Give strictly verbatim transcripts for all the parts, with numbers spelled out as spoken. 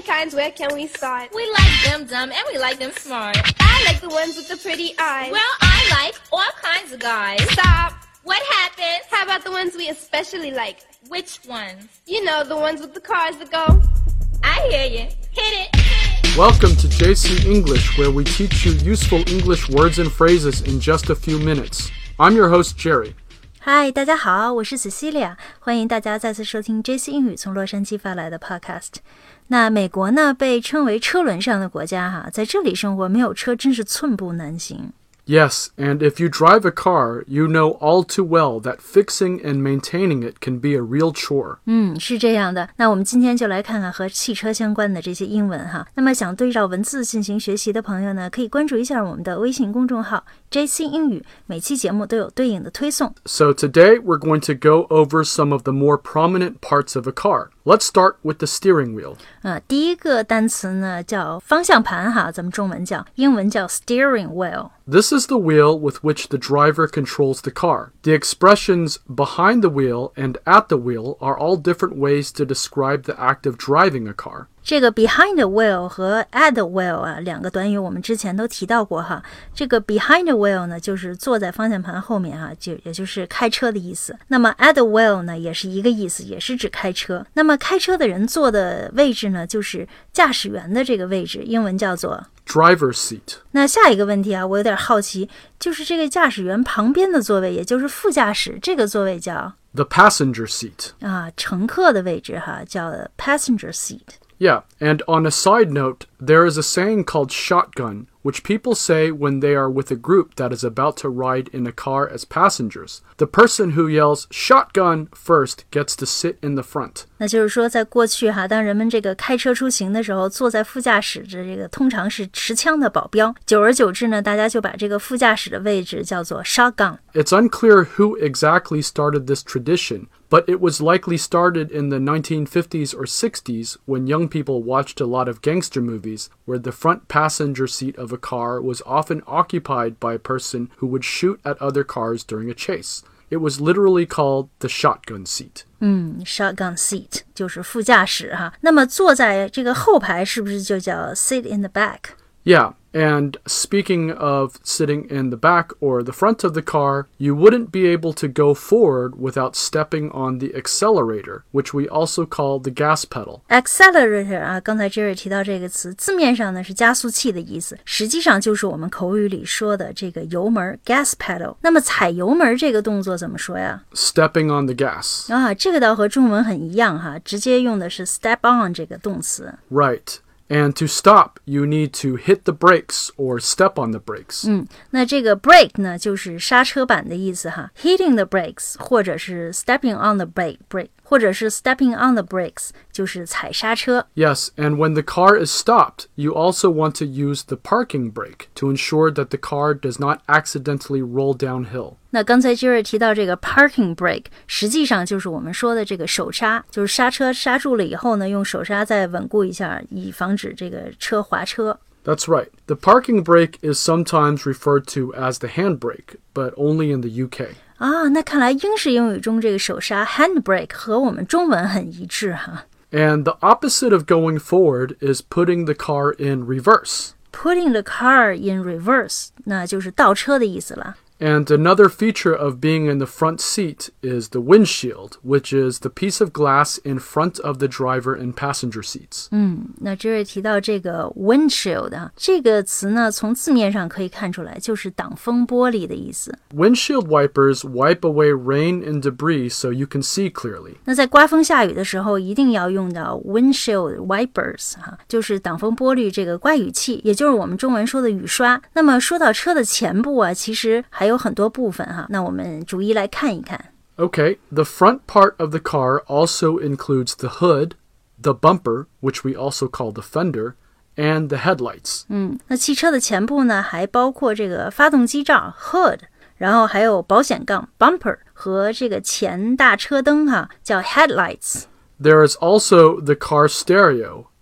many kinds. Where can we start? We like them dumb and we like them smart. I like the ones with the pretty eyes. Well, I like all kinds of guys. Stop. What happened? How about the ones we especially like? Which ones? You know, the ones with the cars that go. I hear you. Hit it. Welcome to J C English, where we teach you useful English words and phrases in just a few minutes. I'm your host, Jerry. Hi， 大家好，我是 Cecilia， 欢迎大家再次收听 J C 英语从洛杉矶发来的 podcast。那美国呢，被称为车轮上的国家哈，在这里生活没有车真是寸步难行。 Yes, and if you drive a car, you know all too well that fixing and maintaining it can be a real chore. 嗯，是这样的。那我们今天就来看看和汽车相关的这些英文哈。那么想对照文字进行学习的朋友呢，可以关注一下我们的微信公众号 J C 英语，每期节目都有对应的推送。 So today we're going to go over some of the more prominent parts of a car. Let's start with the steering wheel. 呃，第一个单词呢叫方向盘哈，咱们中文叫，英文叫 steering wheel。This is the wheel with which the driver controls the car. The expressions behind the wheel and at the wheel are all different ways to describe the act of driving a car. 这个 behind the wheel 和 at the wheel 啊，两个短语我们之前都提到过哈。这个 behind the wheel 呢，就是坐在方向盘后面哈，就也就是开车的意思。那么 at the wheel 呢，也是一个意思，也是指开车。那么开车的人坐的位置呢，就是驾驶员的这个位置，英文叫做 driver's seat. 那下一个问题啊，我有点好奇，就是这个驾驶员旁边的座位，也就是副驾驶这个座位叫 the passenger seat. 啊，乘客的位置哈，叫 passenger seat。Yeah, and on a side note, there is a saying called shotgun, which people say when they are with a group that is about to ride in a car as passengers. The person who yells shotgun first gets to sit in the front. 那就是说在过去哈，当人们这个开车出行的时候，坐在副驾驶的这个通常是持枪的保镖，久而久之呢，大家就把这个副驾驶的位置叫做 shotgun. It's unclear who exactly started this tradition.But it was likely started in the nineteen fifties or sixties when young people watched a lot of gangster movies where the front passenger seat of a car was often occupied by a person who would shoot at other cars during a chase. It was literally called the shotgun seat. 嗯 shotgun seat 就是副驾驶哈。那么坐在这个后排是不是就叫 sit in the back? Yeah, and speaking of sitting in the back or the front of the car, you wouldn't be able to go forward without stepping on the accelerator, which we also call the gas pedal. Accelerator 啊，刚才 Jerry 提到这个词，字面上呢是加速器的意思，实际上就是我们口语里说的这个油门 gas pedal。那么踩油门这个动作怎么说呀？ Stepping on the gas. 啊，这个倒和中文很一样哈，直接用的是 step on 这个动词。 Right.And to stop, you need to hit the brakes or step on the brakes. 嗯，那这个 brake 呢，就是刹车板的意思哈。Hitting the brakes 或者是 stepping on the brake, brake 或者是 stepping on the brakes 就是踩刹车。 Yes, and when the car is stopped, you also want to use the parking brake to ensure that the car does not accidentally roll downhill. 那刚才 Jerry 提到这个 parking brake 实际上就是我们说的这个手刹，就是刹车刹住了以后呢，用手刹再稳固一下，以防止这个车滑车。 That's right. The parking brake is sometimes referred to as the handbrake, but only in the U K. 啊，那看来英式英语中这个手刹 handbrake 和我们中文很一致哈。 And the opposite of going forward is putting the car in reverse. Putting the car in reverse 那就是倒车的意思了。 And another feature of being in the front seat is the windshield, which is the piece of glass in front of the driver and passenger seats. 嗯，那这位提到这个 windshield 啊，这个词呢，从字面上可以看出来，就是挡风玻璃的意思。 Windshield wipers wipe away rain and debris so you can see clearly. 那在刮风下雨的时候，一定要用到 windshield wipers 哈，就是挡风玻璃这个刮雨器，也就是我们中文说的雨刷。那么说到车的前部啊，其实还有有很多部分哈，那我们逐一来看一看。 Okay, the front part of the car also includes the hood, the bumper, which we also call the fender, and the headlights. 嗯，那汽车的前部呢，还包括这个发动机罩 hood， 然后还有保险杠 bumper 和这个前大车灯哈，叫 headlights. There is also the car stereo.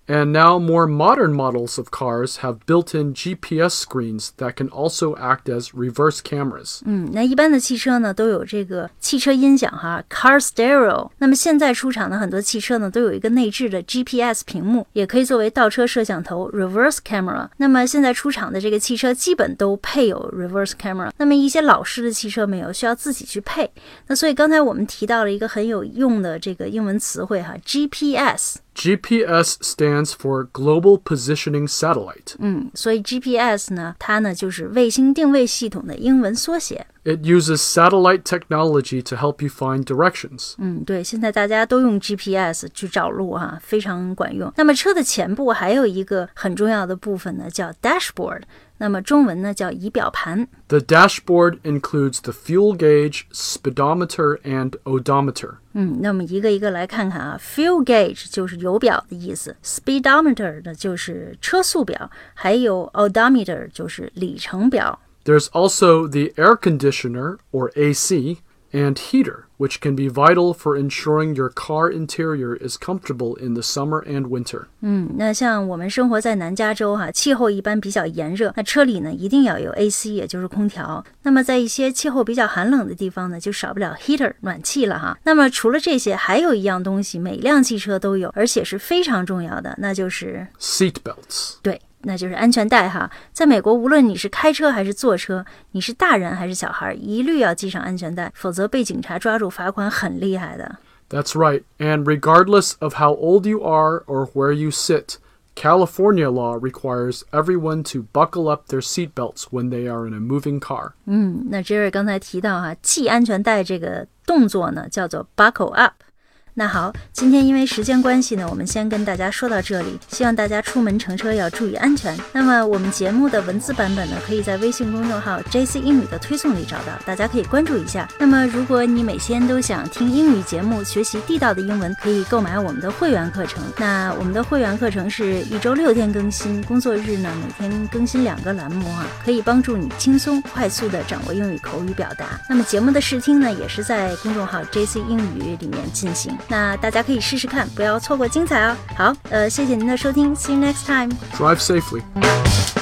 And now more modern models of cars have built-in G P S screens that can also act as reverse cameras. 嗯，那一般的汽车呢都有这个汽车音响哈 ，car stereo。那么现在出厂的很多汽车呢都有一个内置的 G P S 屏幕，也可以作为倒车摄像头 reverse camera。那么现在出厂的这个汽车基本都配有 reverse camera。那么一些老式的汽车没有，需要自己去配。那所以刚才我们提到了一个很有用的这个英文词汇哈 ，G P S。G P S stands for Global Positioning Satellite. 嗯，所以 G P S 呢，它呢就是卫星定位系统的英文缩写。 It uses satellite technology to help you find directions. 嗯，对，现在大家都用 G P S 去找路哈、啊，非常管用。那么车的前部还有一个很重要的部分呢，叫 dashboard。那么中文呢叫仪表盘。 The dashboard includes the fuel gauge, speedometer, and odometer. 嗯，那么一个一个来看看啊 ，fuel gauge 就是油表的意思 ，speedometer 呢就是车速表，还有 odometer 就是里程表。 There's also the air conditioner, or A C, and heater, which can be vital for ensuring your car interior is comfortable in the summer and winter. 嗯，那像我们生活在南加州哈、啊，气候一般比较炎热，那车里呢一定要有 A C， 也就是空调。那么在一些气候比较寒冷的地方呢，就少不了 heater 暖气了哈。那么除了这些，还有一样东西每辆汽车都有，而且是非常重要的，那就是 seat belts. 对。那就是安全带哈，在美国，无论你是开车还是坐车，你是大人还是小孩，一律要系上安全带，否则被警察抓住罚款很厉害的。 That's right, and regardless of how old you are or where you sit, California law requires everyone to buckle up their seatbelts when they are in a moving car. 嗯，那 Jerry 刚才提到哈，系安全带这个动作呢，叫做 buckle up。那好，今天因为时间关系呢，我们先跟大家说到这里，希望大家出门乘车要注意安全。那么我们节目的文字版本呢，可以在微信公众号 J C 英语的推送里找到，大家可以关注一下。那么如果你每天都想听英语节目，学习地道的英文，可以购买我们的会员课程。那我们的会员课程是一周六天更新，工作日呢每天更新两个栏目啊，可以帮助你轻松快速的掌握英语口语表达。那么节目的试听呢，也是在公众号 J C 英语里面进行。那大家可以试试看，不要错过精彩哦。好，呃，谢谢您的收听 ，See you next time. Drive safely.